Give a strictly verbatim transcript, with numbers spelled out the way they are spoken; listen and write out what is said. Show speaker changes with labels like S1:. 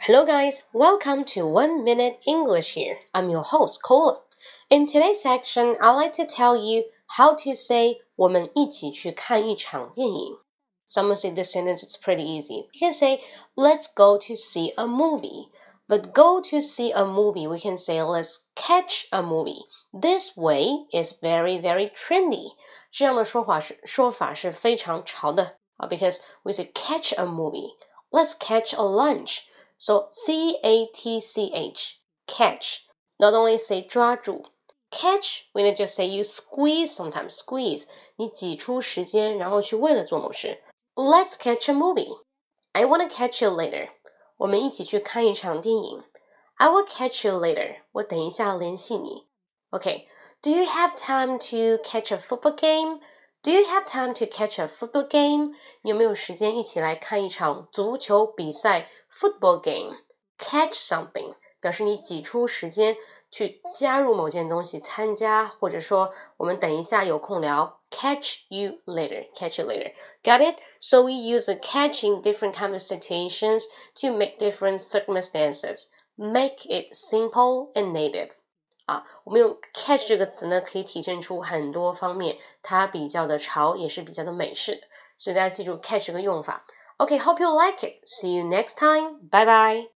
S1: Hello guys, welcome to One Minute English here. I'm your host, Cola. In today's section, I'd like to tell you how to say 我们一起去看一场电影. Someone say this sentence, it's pretty easy. We can say, let's go to see a movie. But go to see a movie, we can say, let's catch a movie. This way is very, very trendy. 这样的说法是说法是非常潮的啊 because we say catch a movie. Let's catch a lunch.So C A T C H, catch. Not only say 抓住 catch, we can just say you squeeze sometimes, squeeze. 你挤出时间，然后去为了做某事。Let's catch a movie. I want to catch you later. 我们一起去看一场电影。I will catch you later. 我等一下联系你。Okay, do you have time to catch a football game?Do you have time to catch a football game? 你有没有时间一起来看一场足球比赛 football game? Catch something 表示你挤出时间去加入某件东西参加，或者说我们等一下有空聊 catch you later, catch you later. Got it? So we use a catch in different kind of situations to make different circumstances. Make it simple and native.啊，我们用 catch 这个词呢，可以体现出很多方面，它比较的潮，也是比较的美式的，所以大家记住 catch 这个用法。Okay, hope you like it. See you next time. Bye bye.